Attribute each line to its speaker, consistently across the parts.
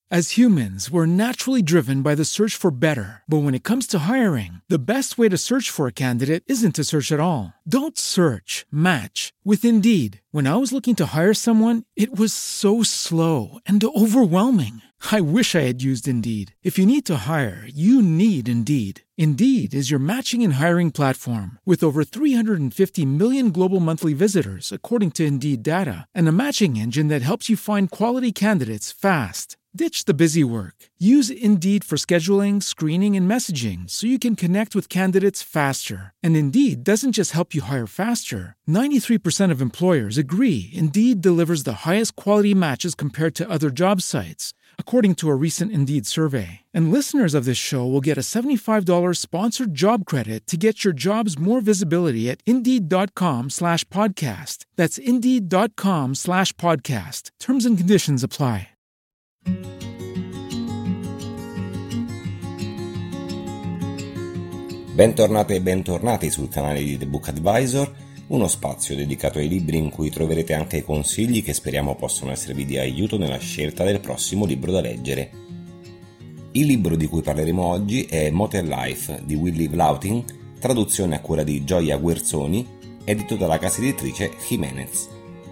Speaker 1: As humans, we're naturally driven by the search for better. But when it comes to hiring, the best way to search for a candidate isn't to search at all. Don't search, match with Indeed. When I was looking to hire someone, it was so slow and overwhelming. I wish I had used Indeed. If you need to hire, you need Indeed. Indeed is your matching and hiring platform with over 350 million global monthly visitors, according to Indeed data, and a matching engine that helps you find quality candidates fast. Ditch the busy work. Use Indeed for scheduling, screening, and messaging so you can connect with candidates faster. And Indeed doesn't just help you hire faster. 93% of employers agree Indeed delivers the highest quality matches compared to other job sites, according to a recent Indeed survey. And listeners of this show will get a $75 sponsored job credit to get your jobs more visibility at Indeed.com/podcast. That's Indeed.com/podcast. Terms and conditions apply.
Speaker 2: Bentornate e bentornati sul canale di The Book Advisor, uno spazio dedicato ai libri in cui troverete anche consigli che speriamo possano esservi di aiuto nella scelta del prossimo libro da leggere. Il libro di cui parleremo oggi è Motel Life di Will Live Laughing, traduzione a cura di Gioia Guerzoni, edito dalla casa editrice Jimenez.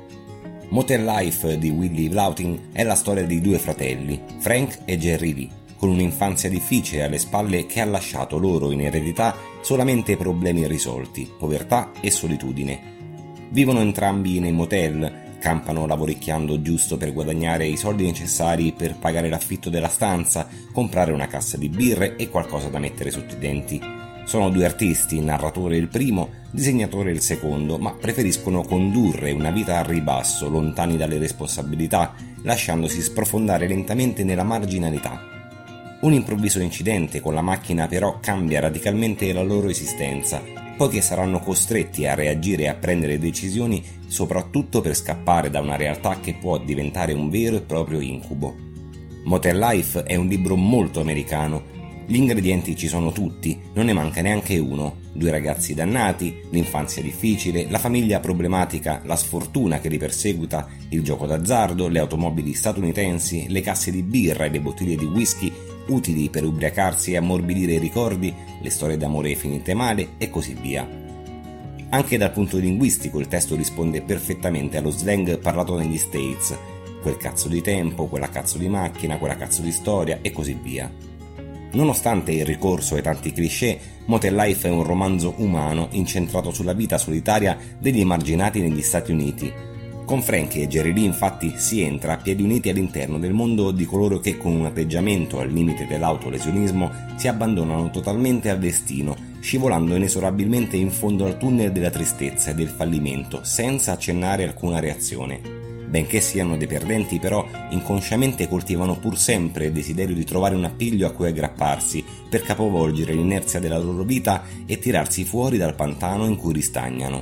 Speaker 2: Motel Life di Will Live Laughing è la storia di due fratelli, Frank e Jerry Lee, con un'infanzia difficile alle spalle che ha lasciato loro in eredità solamente problemi irrisolti, povertà e solitudine. Vivono entrambi nei motel, campano lavoricchiando giusto per guadagnare i soldi necessari per pagare l'affitto della stanza, comprare una cassa di birre e qualcosa da mettere sotto i denti. Sono due artisti, narratore il primo, disegnatore il secondo, ma preferiscono condurre una vita a ribasso, lontani dalle responsabilità, lasciandosi sprofondare lentamente nella marginalità. Un improvviso incidente con la macchina però cambia radicalmente la loro esistenza, poiché saranno costretti a reagire e a prendere decisioni soprattutto per scappare da una realtà che può diventare un vero e proprio incubo. Motel Life è un libro molto americano. Gli ingredienti ci sono tutti, non ne manca neanche uno. Due ragazzi dannati, l'infanzia difficile, la famiglia problematica, la sfortuna che li perseguita, il gioco d'azzardo, le automobili statunitensi, le casse di birra e le bottiglie di whisky utili per ubriacarsi e ammorbidire i ricordi, le storie d'amore finite male e così via. Anche dal punto linguistico il testo risponde perfettamente allo slang parlato negli States, quel cazzo di tempo, quella cazzo di macchina, quella cazzo di storia e così via. Nonostante il ricorso ai tanti cliché, Motel Life è un romanzo umano incentrato sulla vita solitaria degli emarginati negli Stati Uniti. Con Frank e Jerry Lee infatti si entra a piedi uniti all'interno del mondo di coloro che con un atteggiamento al limite dell'autolesionismo si abbandonano totalmente al destino, scivolando inesorabilmente in fondo al tunnel della tristezza e del fallimento senza accennare alcuna reazione. Benché siano dei perdenti però, inconsciamente coltivano pur sempre il desiderio di trovare un appiglio a cui aggrapparsi per capovolgere l'inerzia della loro vita e tirarsi fuori dal pantano in cui ristagnano.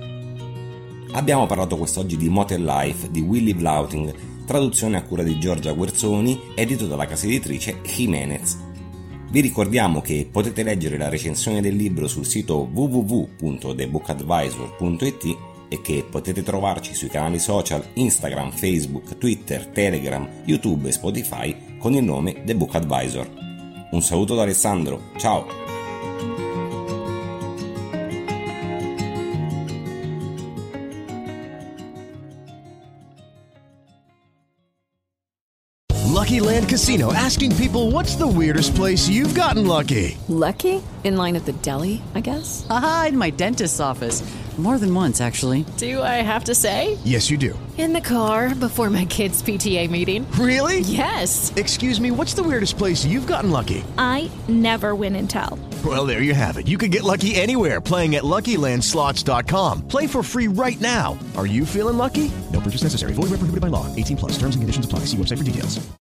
Speaker 2: Abbiamo parlato quest'oggi di Motel Life di Will Live Laughing, traduzione a cura di Gioia Guerzoni, edito dalla casa editrice Jimenez. Vi ricordiamo che potete leggere la recensione del libro sul sito www.thebookadvisor.it e che potete trovarci sui canali social Instagram, Facebook, Twitter, Telegram, YouTube e Spotify con il nome The Book Advisor. Un saluto da Alessandro, ciao!
Speaker 3: Lucky Land Casino, asking people, what's the weirdest place you've gotten lucky?
Speaker 4: Lucky? In line at the deli, I guess?
Speaker 5: Aha, in my dentist's office. More than once, actually.
Speaker 4: Do I have to say?
Speaker 3: Yes, you do.
Speaker 4: In the car before my kids' PTA meeting.
Speaker 3: Really?
Speaker 4: Yes.
Speaker 3: Excuse me, what's the weirdest place you've gotten lucky?
Speaker 6: I never win and tell.
Speaker 3: Well, there you have it. You can get lucky anywhere, playing at LuckyLandSlots.com. Play for free right now. Are you feeling lucky? No purchase necessary. Void where prohibited by law. 18+. Terms and conditions apply. See website for details.